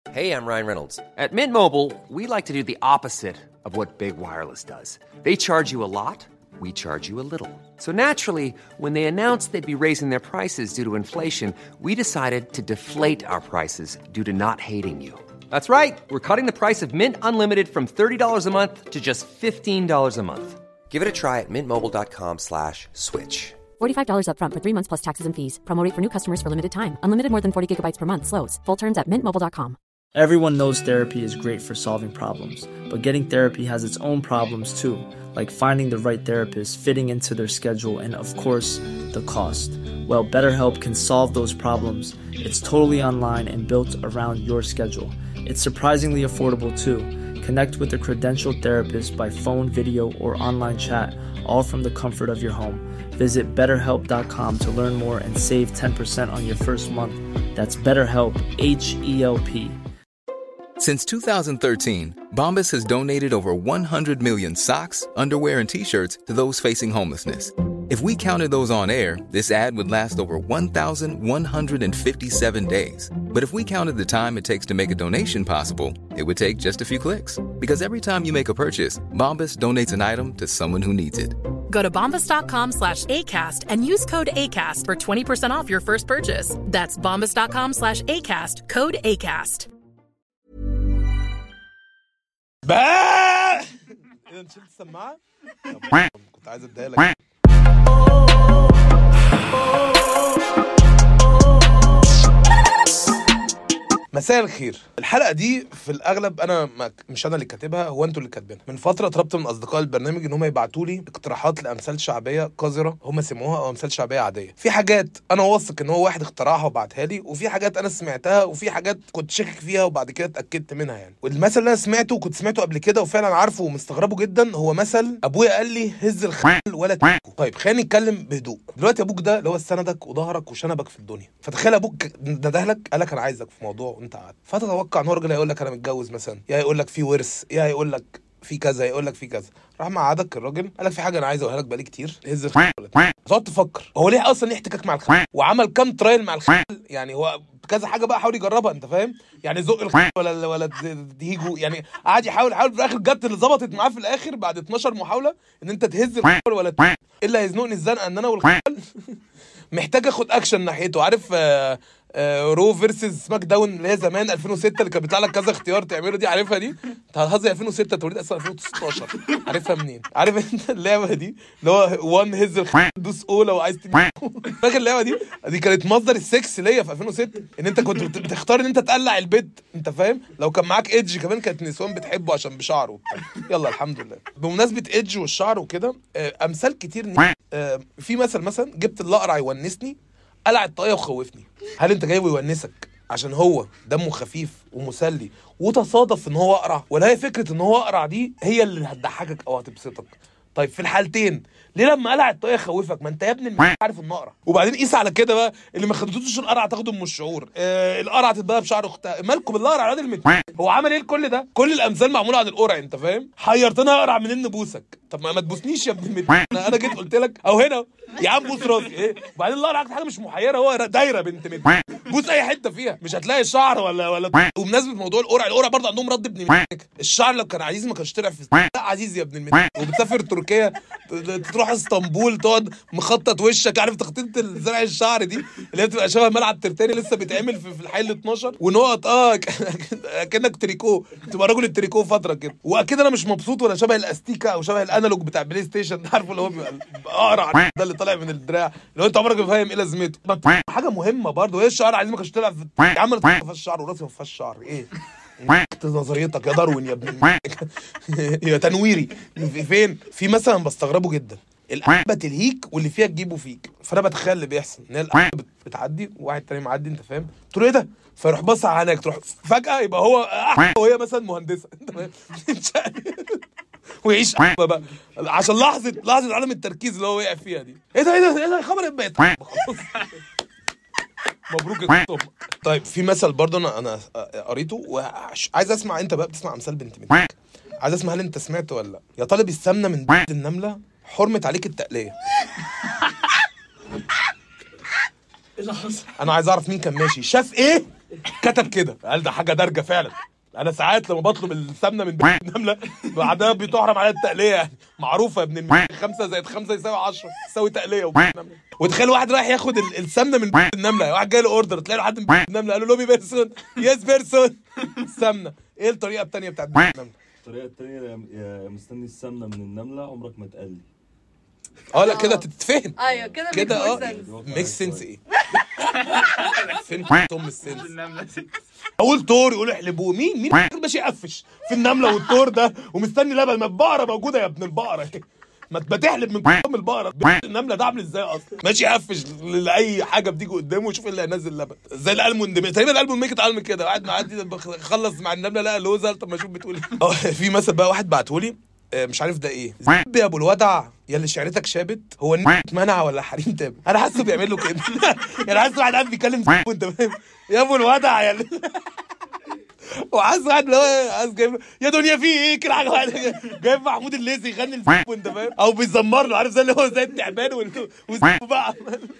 Hey, I'm Ryan Reynolds. At Mint Mobile, we like to do the opposite of what Big Wireless does. They charge you a lot, we charge you a little. So naturally, when they announced they'd be raising their prices due to inflation, we decided to deflate our prices due to not hating you. That's right. We're cutting the price of Mint Unlimited from $30 a month to just $15 a month. Give it a try at mintmobile.com/switch. $45 up front for 3 months plus taxes and fees. Promo rate for new customers for limited time. Unlimited more than 40 gigabytes per month. Slows full terms at mintmobile.com. Everyone knows therapy is great for solving problems, but getting therapy has its own problems too, like finding the right therapist, fitting into their schedule, and of course, the cost. Well, BetterHelp can solve those problems. It's totally online and built around your schedule. It's surprisingly affordable too. Connect with a credentialed therapist by phone, video, or online chat, all from the comfort of your home. Visit BetterHelp.com to learn more and save 10% on your first month. That's BetterHelp, H-E-L-P. Since 2013, Bombas has donated over 100 million socks, underwear, and T-shirts to those facing homelessness. If we counted those on air, this ad would last over 1,157 days. But if we counted the time it takes to make a donation possible, it would take just a few clicks. Because every time you make a purchase, Bombas donates an item to someone who needs it. Go to bombas.com/ACAST and use code ACAST for 20% off your first purchase. That's bombas.com/ACAST, code ACAST. بقى اذا نشيل السماعه كنت عايز اديها لك. مساء الخير. الحلقه دي في الاغلب انا مش انا اللي كاتبها، هو انتوا اللي كاتبينها. من فتره طلبت من اصدقاء البرنامج ان هم يبعتوا لي اقتراحات لامثال شعبيه قذره هم سموها او امثال شعبيه عاديه. في حاجات انا واثق ان هو واحد اخترعها وبعتها لي، وفي حاجات انا سمعتها، وفي حاجات كنت شاكك فيها وبعد كده اتاكدت منها يعني. والمثل اللي انا سمعته وكنت سمعته قبل كده وفعلا عارفه ومستغربه جدا هو مثل ابويا قال لي هز الخيل ولا تاكل. طيب خلينا نتكلم بهدوء. دلوقتي ابوك ده اللي هو سندك وظهرك وشنبك في الدنيا، فتخيل ابوك ندهلك قال لك انا عايزك في موضوع وانت قاعد، فتتوقع ان هو راجل هيقول لك انا متجوز مثلا، يا يقول لك في ورث، يا يقول لك في كذا، يقول لك في كذا. راح مقعدك الراجل قال لك في حاجه انا عايز اقولها لك بقالي كتير، هز الخيل. تقعد تفكر هو ليه اصلا ليه احتكاك مع الخيل، وعمل كام ترايل مع الخيل، يعني هو كذا حاجه بقى حاول يجربها، انت فاهم يعني، زق الخيل ولا ديجو، يعني قعد يحاول في الاخر جت اللي ظبطت معاه في الاخر بعد 12 محاوله ان انت تهز الخيل ولا ايه اللي هيزنقني الزنقه ان انا والخيل محتاج اخد اكشن ناحيته. عارف رو فيرسز سماك داون اللي هي زمان 2006 اللي كان بيطلع لك كذا اختيار تعمله دي، عارفها دي؟ انت هتهزر 2006 توليد اصلا 2016، عارفها منين؟ عارف انت اللعبه دي اللي هو وان هز الخيل دوس او لو عايز فاكر اللعبه دي كانت مصدر السكس ليا في 2006، ان انت كنت بتختار ان انت تقلع البيت، انت فاهم؟ لو كان معاك ايدج كمان كانت نسوان بتحبه عشان بشعره وبتاع. يلا الحمد لله. بمناسبه ايدج والشعر وكده، امثال كتير في مثلا جبت الاقرع يونسني قلع الطاقية وخوفني. هل انت جايبه يونسك عشان هو دمه خفيف ومسلي وتصادف ان هو اقرع، ولا هي فكرة ان هو اقرع دي هي اللي هتضحكك او هتبسطك؟ طيب في الحالتين ليه لما قلع الطاقية خوفك؟ ما انت يا ابني عارف انه اقرع. وبعدين قيس على كده بقى اللي ما خدتوش القرع تاخده من الشعور، القرع تتبقى بشعر اختها، مالكم بالقرع راجل هو عمل ايه لكل ده؟ كل الامثال معموله عن القرع، انت فاهم؟ حيرتنا اقرع منين نبوسك؟ طب ما تبوسنيش يا ابن انا جيت قلت لك او هنا يا عم بوس راسي ايه؟ وبعدين القرع حاجه مش محيره، هو دايره بنت بوس اي حته فيها مش هتلاقي الشعر ولا. وبمناسبه موضوع القرع برضه عندهم رد ابن الشعر لو كان عزيز ما كانش طلع في لا عزيز يا ابن وبتسافر تركيا تروح اسطنبول تقعد مخطط وشك، عارف تخطيط زرع الشعر دي اللي هي بتبقى شبه ملعب ترتاني لسه بيتعمل في الحي ال 12 ونقط كأنك تريكو، تبقى راجل التريكو فتره كده. واكيد انا مش مبسوط ولا شبه الاستيكا او شبه الانالوج بتاع بلاي ستيشن، عارفه اللي هو بيبقى اقرع ده اللي طالع من الدراع اللي هو انت عمرك ما فاهم ايه لازمته. حاجه مهمه برضه هي الشعر، عايز ما كانش طلع في يا عم ما فيهاش شعر وراسي ما فيهاش شعر ايه؟ نظريتك يا داروين يا ابن يا تنويري. فين في مثلا بستغربه جدا القلبه تلهيك واللي فيها تجيبه فيك، فانا بتخيل اللي بيحصل ان القلبه بتعدي وواحد تاني معدي، انت فاهم؟ تقول ايه ده؟ فيروح بص على عينك، تروح فجاه يبقى هو وهي مثلا مهندسه، انت فاهم؟ ويعيش بقى عشان لحظه عدم التركيز اللي هو وقع فيها دي. ايه ده خبر البيت مبروك يا طب. طيب في مثل برضه انا قريته وعايز اسمع، انت بقى بتسمع امثال بنت منك، عايز اسمع هل انت سمعت ولا لا؟ يا طالب السمنه من بيت النمله حرمت عليك التقليه. ايه اللي حصل؟ انا عايز اعرف مين كان ماشي شاف ايه كتب كده، قال ده حاجه دارجه فعلا. انا ساعات لما بطلب السمنه من بيت النمله بعدها بتحرم عليها التقليه، يعني معروفه يا ابن 5 زائد 5 يساوي 10 تساوي تقليه. وتخيل واحد رايح ياخد السمنه من بيت النمله، واحد جاي له اوردر تلاقي له حد من بيت النمله قال له لوبي بيرسون يس بيرسون السمنه. ايه الطريقه الثانيه بتاعت بيت النمله؟ الطريقه الثانيه يا مستني السمنه من النمله عمرك ما تقلي. لا كده تتفهم. ايوه كده ميك سنس. ايه فين ام السنس؟ اقول طور يقول احلبوه. مين ماشي يقفش في النمله والطور ده ومستني لبن؟ ما البقره موجوده يا ابن البقره، ما تحلب من ام البقره. النمله ده عامل ازاي اصلا؟ ماشي يقفش لاي حاجه بتيجي قدامه ويشوف اللي هينزل لبن. زي الالمون تقريبا الالمون ميك اتعلم كده، قاعد معدي خلص مع النمله لقى لوزه. طب ما اشوف بتقول ايه. في مثل بقى واحد بعتهولي مش عارف ده ايه، زب يا ابو الودع يا اللي شعرتك شابت، هو منع ولا حريم تاب؟ انا حاسه بيعمل له كده يعني حاسه واحد قاعد بيتكلم وانت فاهم يا ابو الودع يا وحاسس واحد اللي هو عايز جايب يا دنيا في ايه كده حاجه واحده جايب محمود الليثي يغني وانت فاهم، او بيزمر له، عارف زي اللي هو زي التعبان بقى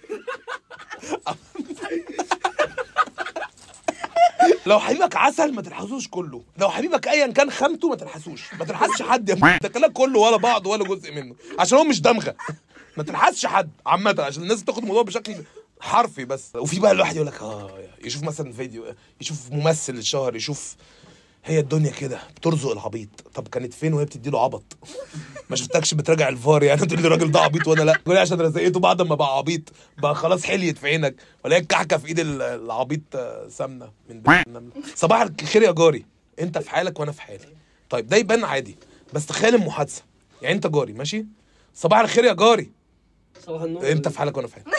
لو حبيبك عسل ما تلحسوش كله، لو حبيبك ايا كان خامته ما تلحسوش، ما تلحسش حد يا ده كلام كله ولا بعض ولا جزء منه، عشان هو مش دمغه. ما تلحسش حد عامه عشان الناس تاخد الموضوع بشكل حرفي بس. وفي بقى الواحد يقول لك يشوف مثلا فيديو، يشوف ممثل الشهر، يشوف هي الدنيا كده بترزق العبيط. طب كانت فين وهي بتدي له عبط؟ ما شفتكش بتراجع الفار يعني تقول لي الراجل ده عبيط وانا لا؟ تقول لي عشان رزقته بعد ما بقى عبيط بقى خلاص حليت في عينك، ولا هي الكحكه في ايد العبيط سمنه من بيت النمله. صباح الخير يا جاري، انت في حالك وانا في حالي. طيب ده يبان عادي، بس تخيل المحادثه. يعني انت جاري ماشي، صباح الخير يا جاري، صباح النور، انت في حالك وانا في حالي.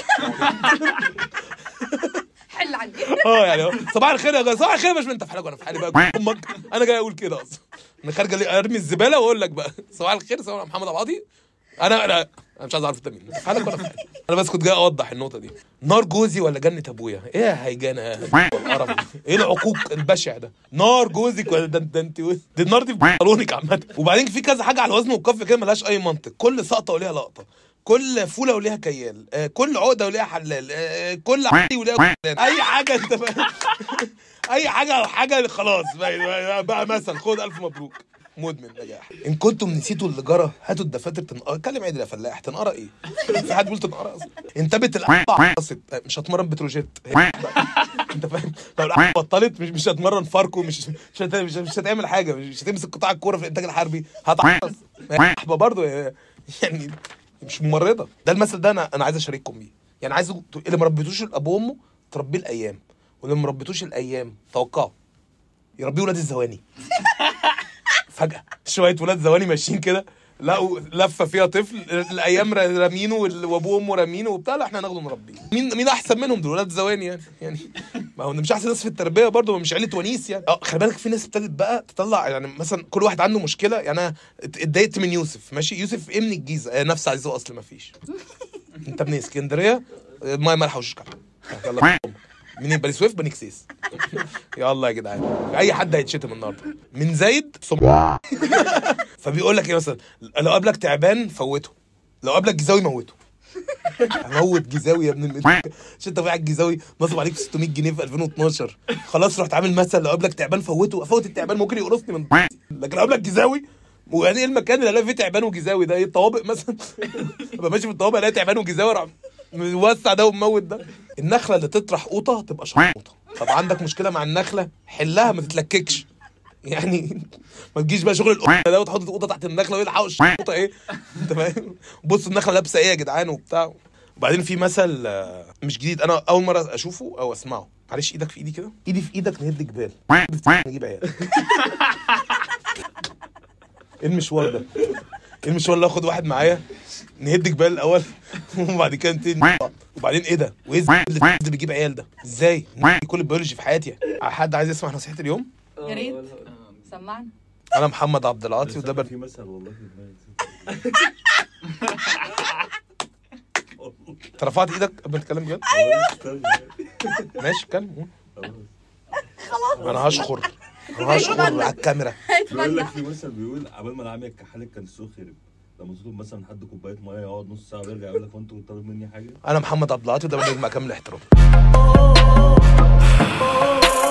حل عني. يعني صباح الخير يا جاري، صباح الخير مش انت في حالك وانا في حالي بقى امك. انا جاي اقول كده اصلا، انا خارجه ارمي الزباله واقول لك بقى صباح الخير صباح محمد عباطي. انا مش عايز اعرف انت مين، في حالك وانا في حالي. انا بس كنت جاي اوضح النقطه دي. نار جوزي ولا جنه ابويا؟ ايه يا هيجانه القرف، ايه العقوق البشع ده؟ نار جوزك ولا ده انت دي النار دي في صالونك عامه. وبعدين في كذا حاجه على الوزن والكف كده ملهاش اي منطق، كل سقطه وليها لقطه، كل فوله وليها كيال، كل عقده وليها حلال، كل عقده وليها اي حاجه انت اي حاجه خلاص بقى مثلا خد الف مبروك مدمن نجاح. ان كنتم نسيتوا اللي جرى هاتوا الدفاتر تنقرا. اتكلم عادي يا فلاح، تنقرا ايه؟ في حد بيقول تنقرا اصلا؟ انتبت القطع مش هتمرن بتروجيت انت فاهم؟ لو القطع بطلت مش هتمرن فاركو، مش هتعمل حاجه، مش هتمسك قطاع الكوره في الانتاج الحربي، هتعطس برضه يعني مش ممرضه. ده المثل ده انا عايز اشارككم بيه. يعني عايز اللي ما ربيتوش الابو وامه تربيه الايام، واللي ما ربيتوش الايام توقعوا يربيه ولاد الزواني. فجاه شويه ولاد زواني ماشيين كده لقوا لفه فيها طفل، الايام رامينه وابوه وامه رامينه وبتاع، لا احنا هناخده نربيه. مين احسن منهم دول ولاد زواني يعني ما هو مش احسن ناس في التربيه برضه، مش عيله ونيس يعني. خلي بالك في ناس ابتدت بقى تطلع، يعني مثلا كل واحد عنده مشكله. يعني انا اتضايقت من يوسف ماشي، يوسف ابن الجيزه نفس عايزه اصل ما فيش. انت ابن اسكندريه ميه مالحه وشكل يلا منين؟ بني سويف بني كسيس. يلا يا جدعان اي حد هيتشتم النهارده من زايد فبيقول لك ايه مثلا، لو قابلك تعبان فوته، لو قابلك جيزاوي موته. هموت جيزاوي يا ابن عشان انت قاعد جيزاوي نصب عليك 600 جنيه في 2012 خلاص رحت عامل مثل لو قابلك تعبان فوته. افوت التعبان ممكن يقرصني من لكن لو قابلك جيزاوي. ويعني ايه المكان اللي الاقي فيه تعبان وجيزاوي ده؟ ايه الطوابق مثلا؟ ابقى ماشي في الطوابق الاقي تعبان وجيزاوي راح موسع ده ومموت ده. النخله اللي تطرح قوطه تبقى شرموطه. طب عندك مشكله مع النخله حلها، ما تتلككش يعني ما تجيش بقى شغل القوطه ده وتحط القوطه تحت النخله ويلحقوا الشرموطه ايه انت فاهم؟ بص النخله لابسه ايه يا جدعان وبتاع. وبعدين في مثل مش جديد، انا اول مره اشوفه او اسمعه. معلش ايدك في ايدي كده، ايدي في ايدك نهد جبال نجيب عيال. ايه المشوار ده؟ ايه المشوار اللي اخد واحد معايا نهد جبال الاول وبعد كده نبتدي وبعدين ايه ده؟ وايه اللي بيجيب عيال ده؟ ازاي؟ كل البيولوجي في حياتي يعني. حد عايز يسمع نصيحه اليوم؟ يا ريت سمعنا. انا محمد عبد العاطي وده في مثل والله في انت رفعت ايدك قبل ما تتكلم بجد؟ ايوه ماشي اتكلم. خلاص انا هشخر على الكاميرا. بيقول لك في مثل بيقول عبال ما العمية كحالك كان السوق خرب. لما تطلب مثلا حد كوبايه ميه يقعد نص ساعه ويرجع يقول لك هو انت طالب مني حاجه؟ انا محمد عبد العاطي وده برنامج مع كامل الاحترام.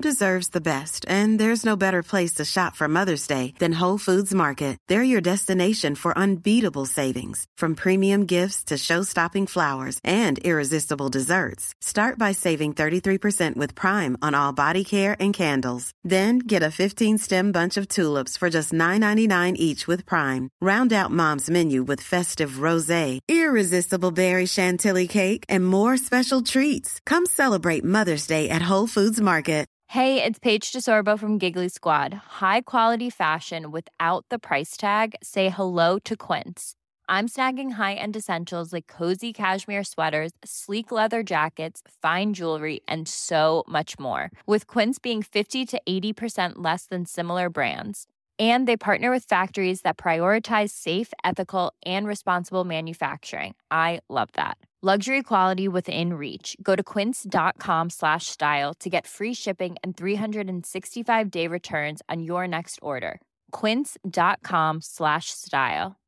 deserves the best, and there's no better place to shop for Mother's Day than Whole Foods Market. They're your destination for unbeatable savings, from premium gifts to show-stopping flowers and irresistible desserts. Start by saving 33% with Prime on all body care and candles. Then get a 15-stem bunch of tulips for just $9.99 each with Prime. Round out Mom's menu with festive rosé, irresistible berry chantilly cake, and more special treats. Come celebrate Mother's Day at Whole Foods Market. Hey, it's Paige DeSorbo from Giggly Squad. High quality fashion without the price tag. Say hello to Quince. I'm snagging high-end essentials like cozy cashmere sweaters, sleek leather jackets, fine jewelry, and so much more. With Quince being 50 to 80% less than similar brands. And they partner with factories that prioritize safe, ethical, and responsible manufacturing. I love that. Luxury quality within reach. Go to quince.com/style to get free shipping and 365-day returns on your next order. Quince.com/style.